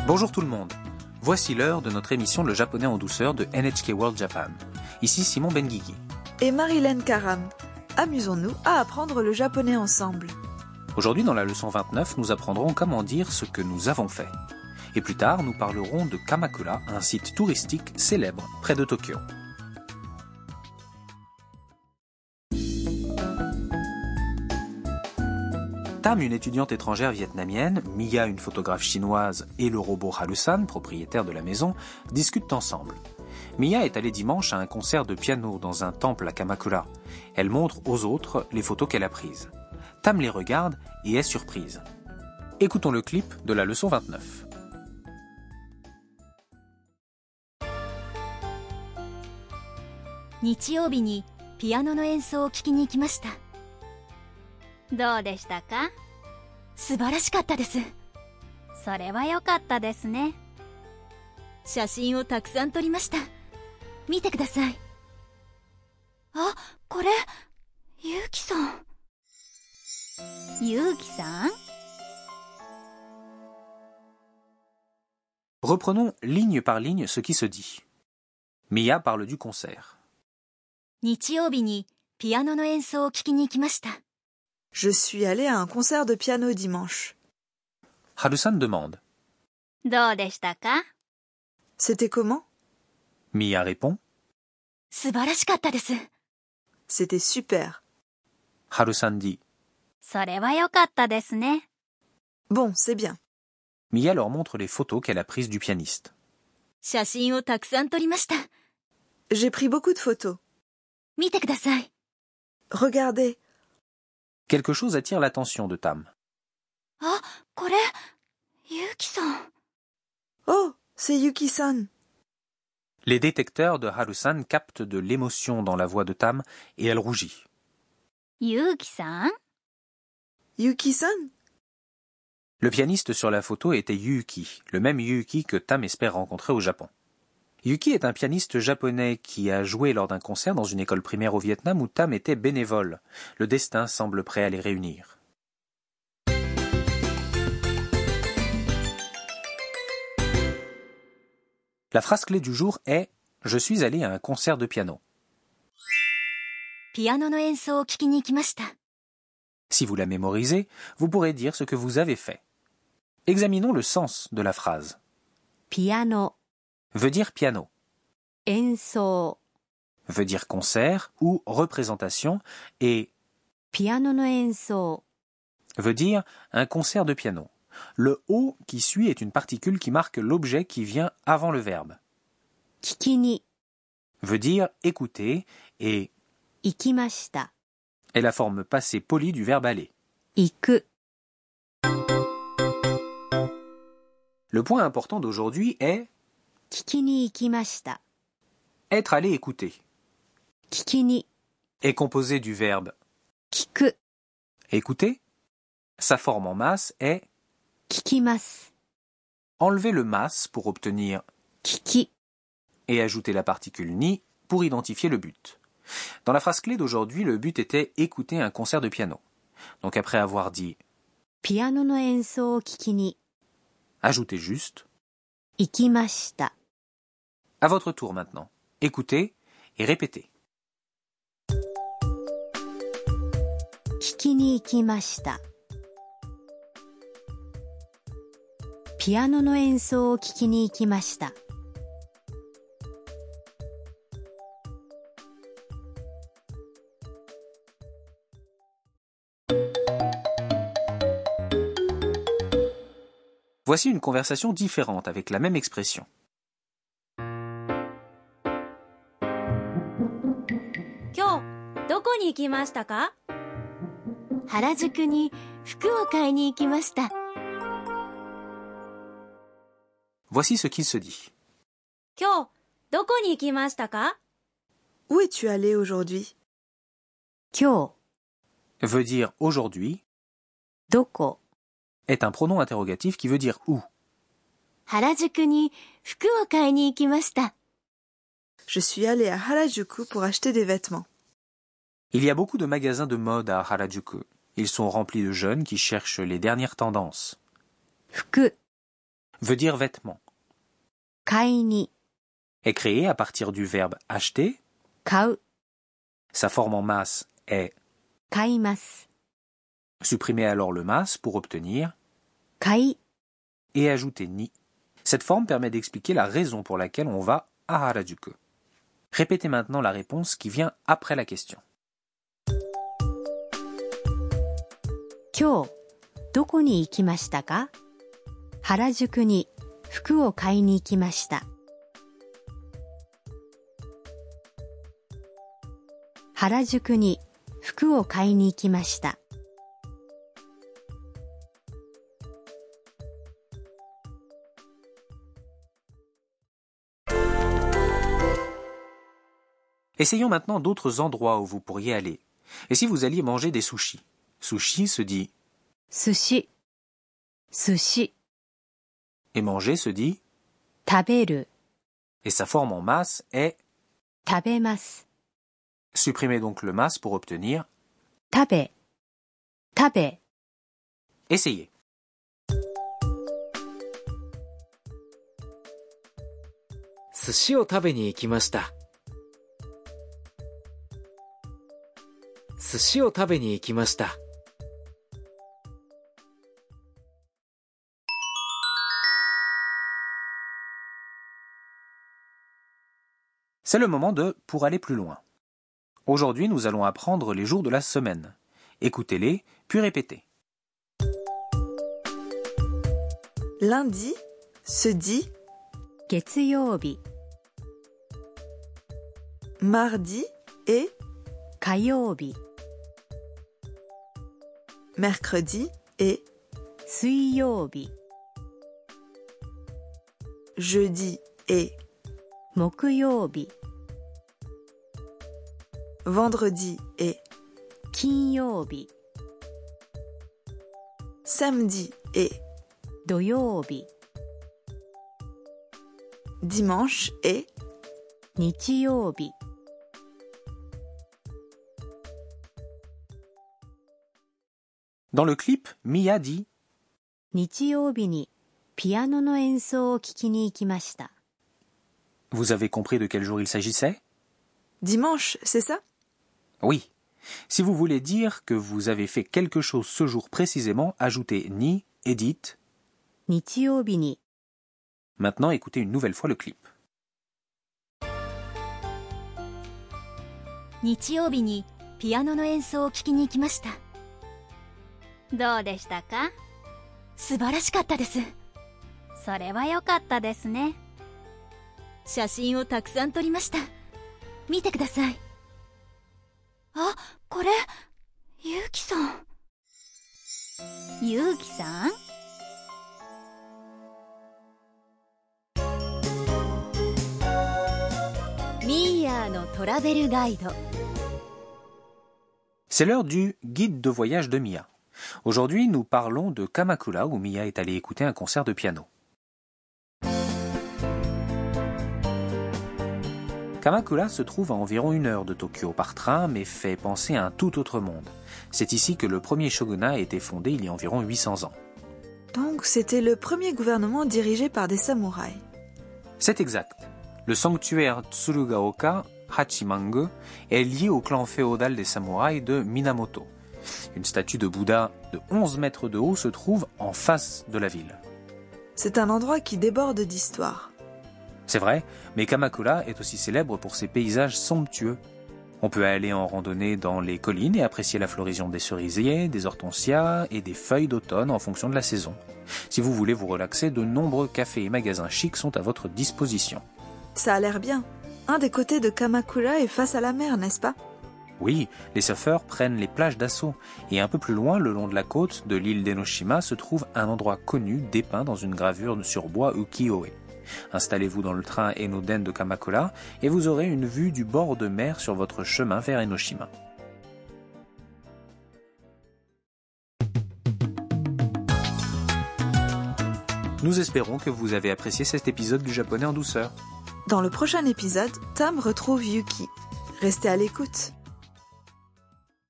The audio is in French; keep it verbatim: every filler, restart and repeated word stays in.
Bonjour tout le monde. Voici l'heure de notre émission Le japonais en douceur de N H K World Japan. Ici Simon Benguigui. Et Marilyn Karam. Amusons-nous à apprendre le japonais ensemble. Aujourd'hui, dans la leçon vingt-neuf, nous apprendrons comment dire ce que nous avons fait. Et plus tard, nous parlerons de Kamakura, un site touristique célèbre près de Tokyo. Tam, une étudiante étrangère vietnamienne, Mia, une photographe chinoise, et le robot Harusan, propriétaire de la maison, discutent ensemble. Mia est allée dimanche à un concert de piano dans un temple à Kamakura. Elle montre aux autres les photos qu'elle a prises. Tam les regarde et est surprise. Écoutons le clip de la leçon vingt-neuf. 日曜日にピアノの演奏を聴きに行きました。 どうでしたか？ 素晴らしかったです。 それは良かったですね。 写真をたくさん撮りました。見てください。あ、これ、ゆうきさん。 ゆうきさん？ Reprenons ligne par ligne ce qui se dit. Mia parle du concert. 日曜日にピアノの演奏を聴きに行きました。 Je suis allée à un concert de piano dimanche. Harusan demande. どうでしたか？ C'était comment? Mia répond. 素晴らしかったです。 C'était super. Harusan dit. それは良かったですね。 Bon, c'est bien. Mia leur montre les photos qu'elle a prises du pianiste. 写真をたくさん撮りました。 J'ai pris beaucoup de photos. 見てください。 Regardez. Quelque chose attire l'attention de Tam. あ、これ、ゆうきさん。 Oh, c'est Yuki-san. Les détecteurs de Harusan captent de l'émotion dans la voix de Tam et elle rougit. ゆうきさん？ Yuki-san? Le pianiste sur la photo était Yuki, le même Yuki que Tam espère rencontrer au Japon. Yuki est un pianiste japonais qui a joué lors d'un concert dans une école primaire au Vietnam où Tam était bénévole. Le destin semble prêt à les réunir. La phrase clé du jour est « Je suis allé à un concert de piano ». ピアノの演奏を聴きに行きました。 Si vous la mémorisez, vous pourrez dire ce que vous avez fait. Examinons le sens de la phrase. ピアノ Veut dire piano, 演奏 veut dire concert ou représentation et ピアノの演奏 veut dire un concert de piano. Le O qui suit est une particule qui marque l'objet qui vient avant le verbe. 聞きに Veut dire écouter et 行きました。 est la forme passée polie du verbe aller. 行く Le point important d'aujourd'hui est 聞きに行きました。 être allé écouter. 聞きに Est composé du verbe 聞く écouter. Sa forme en masse est 聞きます。 enlever le mas pour obtenir 聞き et ajouter la particule ni pour identifier le but. Dans la phrase clé d'aujourd'hui, le but était écouter un concert de piano. Donc après avoir dit ピアノの演奏を聞きに ajoutez juste 行きました。 à votre tour maintenant. Écoutez et répétez. 聞きに行きました。ピアノの演奏を聞きに行きました。 Voici une conversation différente avec la même expression. 今日どこに行きましたか？原宿に服を買いに行きました。 Voici ce qu'il se dit. 今日どこに行きましたか？ Où es-tu allé aujourd'hui? 今日 Veut dire aujourd'hui どこ est un pronom interrogatif qui veut dire où. 原宿に服を買いに行きました。 Je suis allée à Harajuku pour acheter des vêtements. Il y a beaucoup de magasins de mode à Harajuku. Ils sont remplis de jeunes qui cherchent les dernières tendances. 服 veut dire vêtement. 買いに Est créé à partir du verbe acheter. 買う Sa forme en masse est 買います supprimer alors le mas pour obtenir 買い et ajouter ni. Cette forme permet d'expliquer la raison pour laquelle on va à Harajuku. Répétez maintenant la réponse qui vient après la question. 今日どこに行きましたか？原宿に服を買いに行きました。原宿に服を買いに行きました。 Essayons maintenant d'autres endroits où vous pourriez aller. Et si vous alliez manger des sushis? Sushi se dit 寿司寿司 et manger se dit 食べる et sa forme en masse est 食べます supprimez donc le mas pour obtenir 食べ食べ essayez. 寿司を食べに行きました。寿司を食べに行きました。 C'est le moment de pour aller plus loin. Aujourd'hui, nous allons apprendre les jours de la semaine. Écoutez-les, puis répétez. Lundi se dit 月曜日 mardi et 火曜日 mercredi et 水曜日 jeudi et 木曜日 vendredi et 金曜日 samedi et 土曜日 dimanche et 日曜日 Dans le clip, Mia dit 日曜日にピアノの演奏を聴きに行きました。 Vous avez compris de quel jour il s'agissait? dimanche, c'est ça? Oui. Si vous voulez dire que vous avez fait quelque chose ce jour précisément, ajoutez ni et dites 日曜日に Maintenant, écoutez une nouvelle fois le clip. 日曜日にピアノの演奏を聴きに行きました。 どうでしたか？ 素晴らしかったです。 それは良かったですね。 写真をたくさん撮りました。見てください。あ、これ、ゆうきさん。 ゆうきさん？ ミーヤーのトラベルガイド。 C'est l'heure du guide de voyage de Mia. Aujourd'hui, nous parlons de Kamakura où Mia est allée écouter un concert de piano. Kamakura se trouve à environ une heure de Tokyo par train, mais fait penser à un tout autre monde. C'est ici que le premier shogunat a été fondé il y a environ huit cents ans. Donc c'était le premier gouvernement dirigé par des samouraïs. C'est exact. Le sanctuaire Tsurugaoka Hachimangu est lié au clan féodal des samouraïs de Minamoto. Une statue de Bouddha de onze mètres de haut se trouve en face de la ville. C'est un endroit qui déborde d'histoire. C'est vrai, mais Kamakura est aussi célèbre pour ses paysages somptueux. On peut aller en randonnée dans les collines et apprécier la floraison des cerisiers, des hortensias et des feuilles d'automne en fonction de la saison. Si vous voulez vous relaxer, de nombreux cafés et magasins chics sont à votre disposition. Ça a l'air bien. Un des côtés de Kamakura est face à la mer, n'est-ce pas? Oui, les surfeurs prennent les plages d'assaut. Et un peu plus loin, le long de la côte de l'île d'Enoshima, se trouve un endroit connu dépeint dans une gravure sur bois ukiyo-e. Installez-vous dans le train Enoden de Kamakura et vous aurez une vue du bord de mer sur votre chemin vers Enoshima. Nous espérons que vous avez apprécié cet épisode du japonais en douceur. Dans le prochain épisode, Tam retrouve Yuki. Restez à l'écoute.